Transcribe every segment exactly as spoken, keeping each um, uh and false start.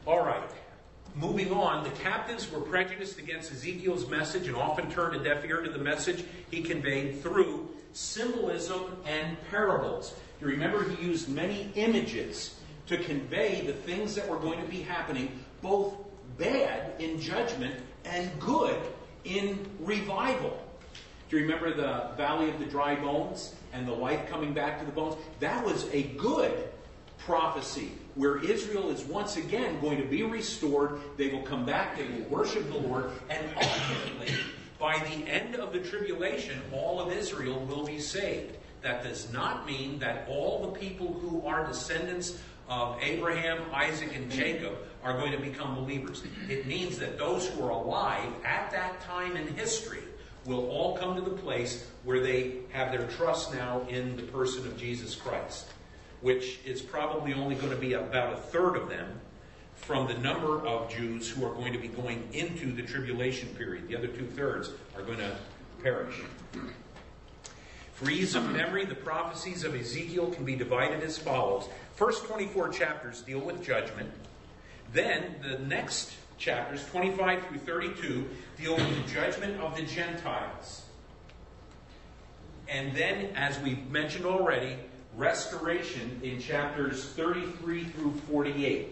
All right. Moving on, the captives were prejudiced against Ezekiel's message and often turned a deaf ear to the message he conveyed through symbolism and parables. You remember he used many images to convey the things that were going to be happening, both bad in judgment and good in revival. Do you remember the Valley of the Dry Bones and the life coming back to the bones? That was a good prophecy where Israel is once again going to be restored. They will come back, they will worship the Lord, and ultimately, by the end of the tribulation, all of Israel will be saved. That does not mean that all the people who are descendants of Abraham, Isaac, and Jacob are going to become believers. It means that those who are alive at that time in history will all come to the place where they have their trust now in the person of Jesus Christ, which is probably only going to be about a third of them from the number of Jews who are going to be going into the tribulation period. The other two-thirds are going to perish. For ease of memory, the prophecies of Ezekiel can be divided as follows. First twenty-four chapters deal with judgment. Then the next chapters, twenty-five through thirty-two, deal with the judgment of the Gentiles. And then, as we've mentioned already, restoration in chapters thirty-three through forty-eight.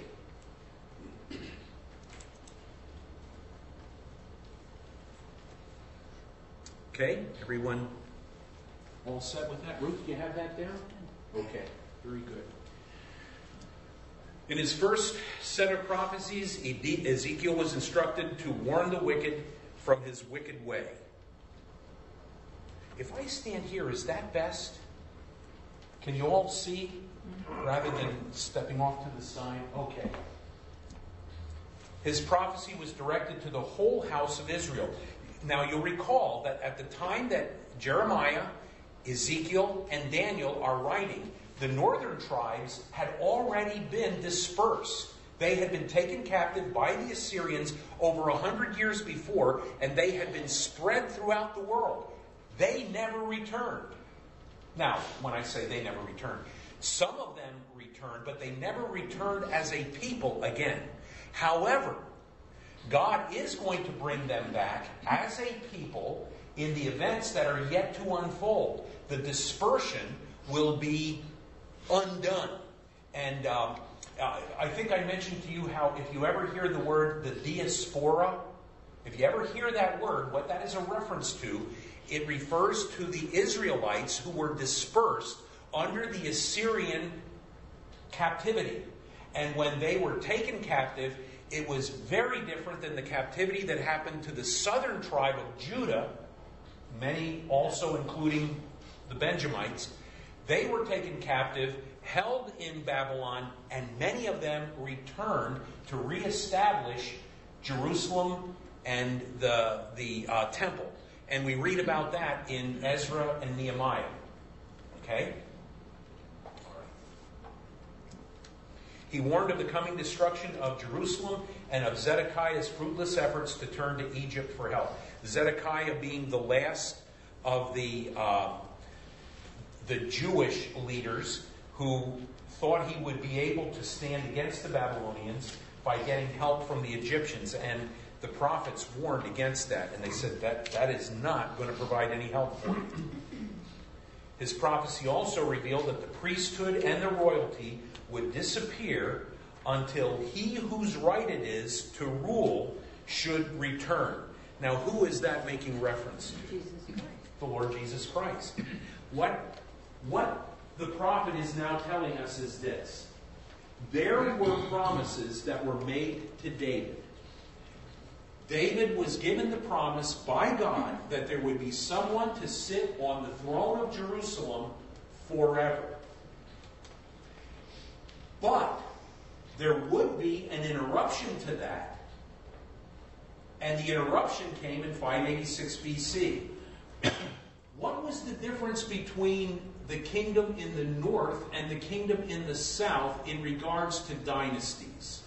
Okay, everyone all set with that? Ruth, do you have that down? Okay, very good. In his first set of prophecies, Ezekiel was instructed to warn the wicked from his wicked way. If I stand here, is that best? Can you all see rather than stepping off to the side? Okay. His prophecy was directed to the whole house of Israel. Now you'll recall that at the time that Jeremiah, Ezekiel, and Daniel are writing, the northern tribes had already been dispersed. They had been taken captive by the Assyrians over a hundred years before, and they had been spread throughout the world. They never returned. Now, when I say they never returned, some of them returned, but they never returned as a people again. However, God is going to bring them back as a people in the events that are yet to unfold. The dispersion will be undone. And um, I think I mentioned to you how if you ever hear the word the diaspora, if you ever hear that word, what that is a reference to, it refers to the Israelites who were dispersed under the Assyrian captivity. And when they were taken captive, it was very different than the captivity that happened to the southern tribe of Judah, many also including the Benjamites. They were taken captive, held in Babylon, and many of them returned to reestablish Jerusalem and the, the uh, temple. And we read about that in Ezra and Nehemiah. Okay? He warned of the coming destruction of Jerusalem and of Zedekiah's fruitless efforts to turn to Egypt for help. Zedekiah being the last of the uh, the Jewish leaders who thought he would be able to stand against the Babylonians by getting help from the Egyptians. And the prophets warned against that. And they said that that is not going to provide any help for you. His prophecy also revealed that the priesthood and the royalty would disappear until he whose right it is to rule should return. Now, who is that making reference to? Jesus Christ. The Lord Jesus Christ. What, what the prophet is now telling us is this. There were promises that were made to David. David was given the promise by God that there would be someone to sit on the throne of Jerusalem forever. But there would be an interruption to that. And the interruption came in five eighty-six B C. What was the difference between the kingdom in the north and the kingdom in the south in regards to dynasties?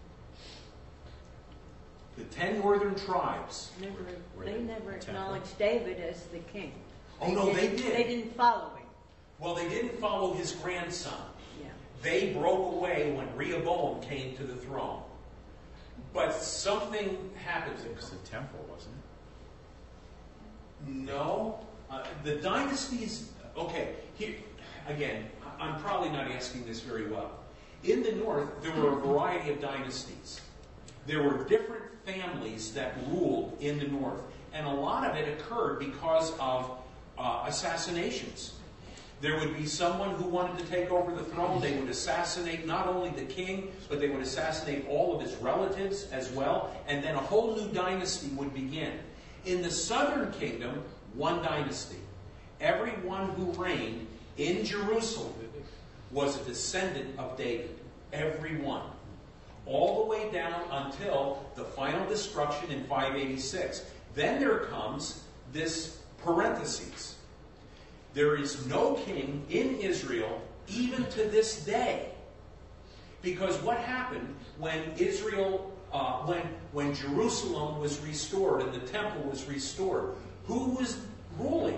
The ten northern tribes. Never, they never acknowledged David as the king. Oh, no, they did. They didn't follow him. Well, they didn't follow his grandson. Yeah. They broke away when Rehoboam came to the throne. But something happens. It was the temple, wasn't it? No. Uh, the dynasties, okay, here, again, I'm probably not asking this very well. In the north, there were a variety of dynasties. There were different families that ruled in the north. And a lot of it occurred because of uh, assassinations. There would be someone who wanted to take over the throne. They would assassinate not only the king, but they would assassinate all of his relatives as well. And then a whole new dynasty would begin. In the southern kingdom, one dynasty. Everyone who reigned in Jerusalem was a descendant of David. Everyone. All the way down until the final destruction in five eighty-six. Then there comes this parenthesis. There is no king in Israel even to this day. Because what happened when Israel, uh, when, when Jerusalem was restored and the temple was restored? Who was ruling?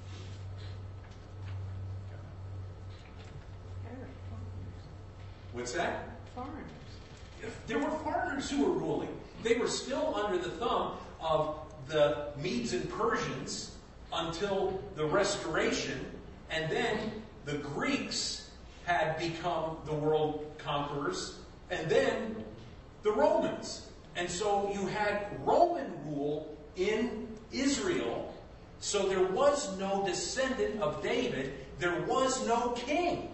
What's that? Foreigners. There were foreigners who were ruling. They were still under the thumb of the Medes and Persians until the Restoration, and then the Greeks had become the world conquerors, and then the Romans. And so you had Roman rule in Israel, so there was no descendant of David, there was no king.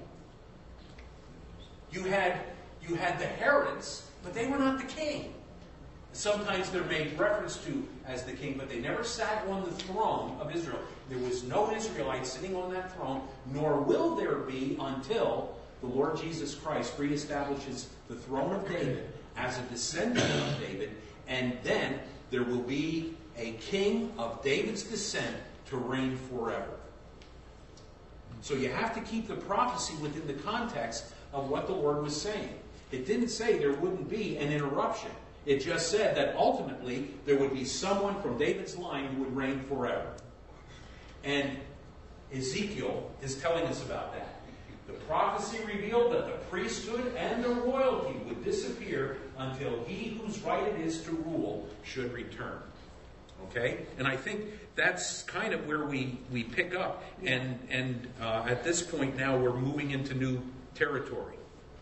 You had, you had the Herods, but they were not the king. Sometimes they're made reference to as the king, but they never sat on the throne of Israel. There was no Israelite sitting on that throne, nor will there be until the Lord Jesus Christ reestablishes the throne of David as a descendant of David, and then there will be a king of David's descent to reign forever. So you have to keep the prophecy within the context of what the Lord was saying. It didn't say there wouldn't be an interruption. It just said that ultimately there would be someone from David's line who would reign forever. And Ezekiel is telling us about that. The prophecy revealed that the priesthood and the royalty would disappear until he whose right it is to rule should return. Okay? And I think that's kind of where we, we pick up. And, and uh, at this point now we're moving into new territory.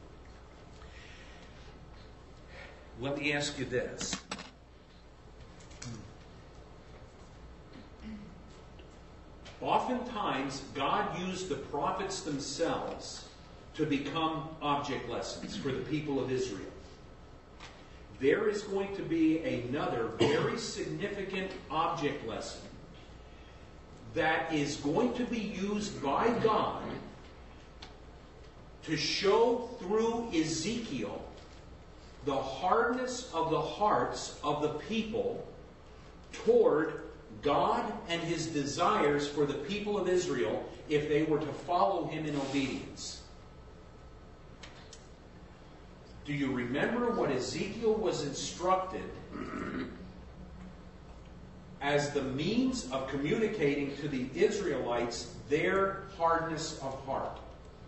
Let me ask you this. Oftentimes, God used the prophets themselves to become object lessons for the people of Israel. There is going to be another very significant object lesson that is going to be used by God to show through Ezekiel the hardness of the hearts of the people toward God and his desires for the people of Israel if they were to follow him in obedience. Do you remember what Ezekiel was instructed as the means of communicating to the Israelites their hardness of heart?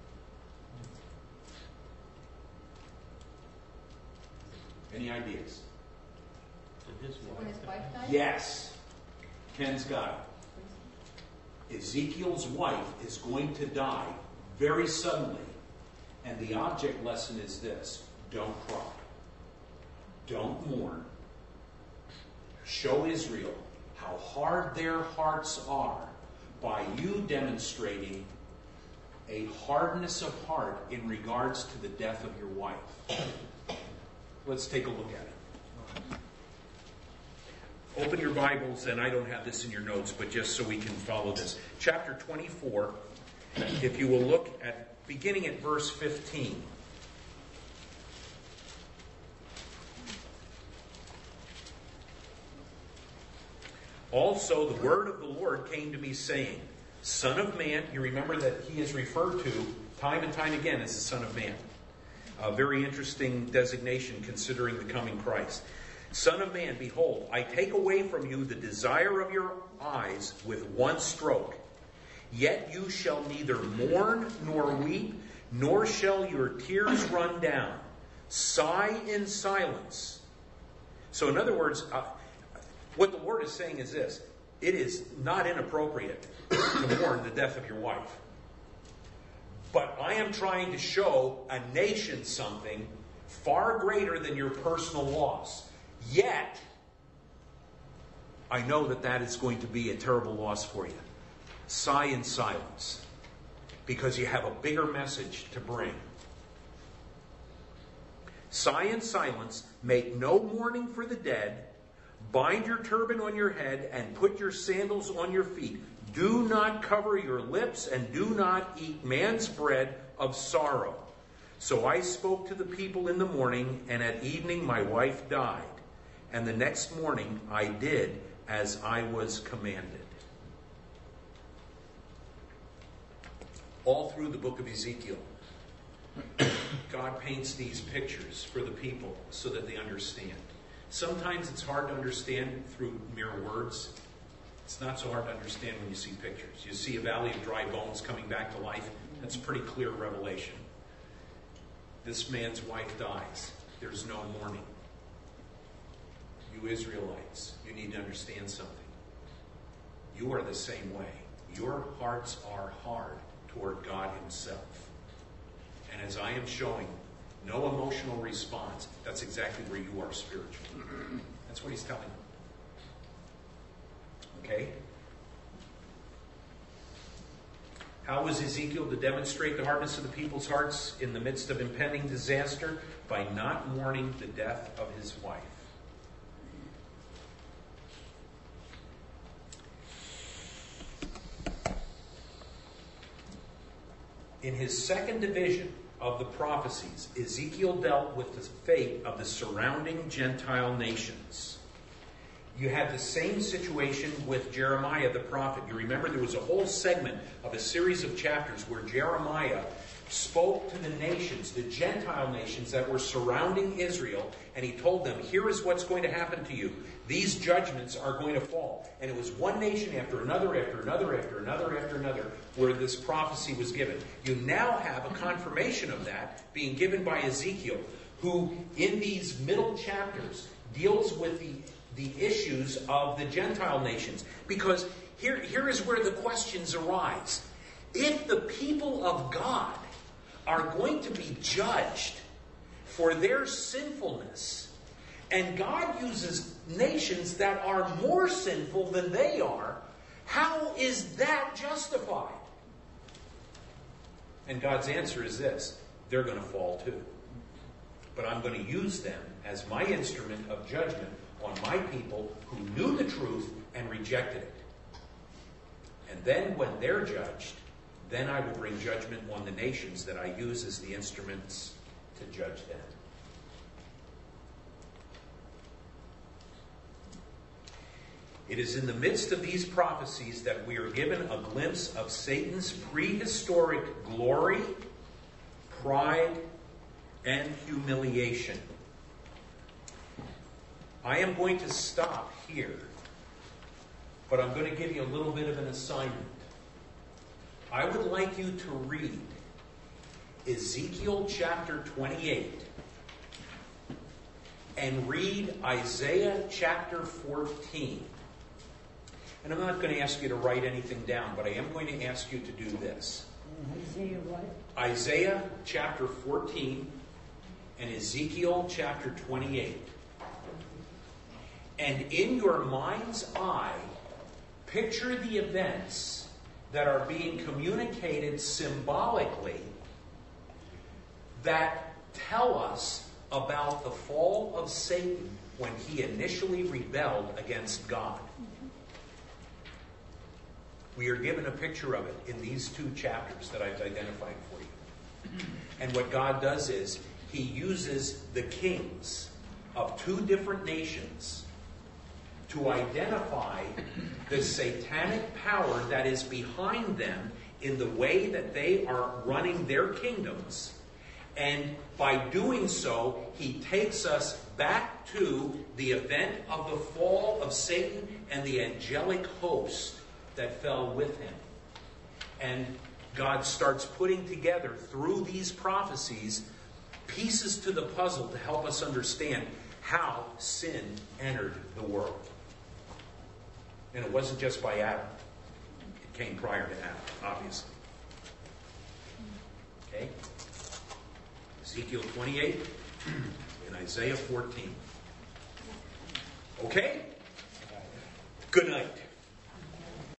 Any ideas? When his wife died? Yes. Ken's got it. Ezekiel's wife is going to die very suddenly. And the object lesson is this. Don't cry. Don't mourn. Show Israel how hard their hearts are by you demonstrating a hardness of heart in regards to the death of your wife. Let's take a look at it. Open your Bibles, and I don't have this in your notes, but just so we can follow this. Chapter twenty-four, if you will look at, beginning at verse fifteen. Also, the word of the Lord came to me, saying, Son of man, you remember that he is referred to time and time again as the Son of Man. A very interesting designation considering the coming Christ. Son of man, behold, I take away from you the desire of your eyes with one stroke. Yet you shall neither mourn nor weep, nor shall your tears run down. Sigh in silence So in other words, uh, what the Lord is saying is this. It is not inappropriate to mourn the death of your wife. But I am trying to show a nation something far greater than your personal loss. Yet, I know that that is going to be a terrible loss for you. Sigh in silence, because you have a bigger message to bring. Sigh in silence, make no mourning for the dead, bind your turban on your head, and put your sandals on your feet. Do not cover your lips, and do not eat man's bread of sorrow. So I spoke to the people in the morning, and at evening my wife died. And the next morning I did as I was commanded. All through the book of Ezekiel, God paints these pictures for the people so that they understand. Sometimes it's hard to understand through mere words. It's not so hard to understand when you see pictures. You see a valley of dry bones coming back to life. That's a pretty clear revelation. This man's wife dies. There's no mourning. You Israelites, you need to understand something. You are the same way. Your hearts are hard toward God himself. And as I am showing, no emotional response, that's exactly where you are spiritually. That's what he's telling them. Okay? How was Ezekiel to demonstrate the hardness of the people's hearts in the midst of impending disaster? By not mourning the death of his wife. In his second division of the prophecies, Ezekiel dealt with the fate of the surrounding Gentile nations. You had the same situation with Jeremiah the prophet. You remember there was a whole segment of a series of chapters where Jeremiah spoke to the nations, the Gentile nations that were surrounding Israel, and he told them, here is what's going to happen to you. These judgments are going to fall. And it was one nation after another, after another, after another, after another, where this prophecy was given. You now have a confirmation of that being given by Ezekiel, who in these middle chapters deals with the, the issues of the Gentile nations. Because here, here is where the questions arise. If the people of God are going to be judged for their sinfulness, and God uses nations that are more sinful than they are, how is that justified? And God's answer is this: they're going to fall too. But I'm going to use them as my instrument of judgment on my people who knew the truth and rejected it. And then when they're judged, then I will bring judgment on the nations that I use as the instruments to judge them. It is in the midst of these prophecies that we are given a glimpse of Satan's prehistoric glory, pride, and humiliation. I am going to stop here, but I'm going to give you a little bit of an assignment. I would like you to read Ezekiel chapter twenty-eight and read Isaiah chapter fourteen. And I'm not going to ask you to write anything down, but I am going to ask you to do this. Isaiah what? Isaiah chapter fourteen and Ezekiel chapter twenty-eight. And in your mind's eye, picture the events that are being communicated symbolically that tell us about the fall of Satan when he initially rebelled against God. We are given a picture of it in these two chapters that I've identified for you. And what God does is he uses the kings of two different nations to identify the satanic power that is behind them in the way that they are running their kingdoms. And by doing so, he takes us back to the event of the fall of Satan and the angelic host that fell with him. And God starts putting together, through these prophecies, pieces to the puzzle to help us understand how sin entered the world. And it wasn't just by Adam. It came prior to Adam, obviously. Okay? Ezekiel twenty-eight and Isaiah fourteen. Okay? Good night.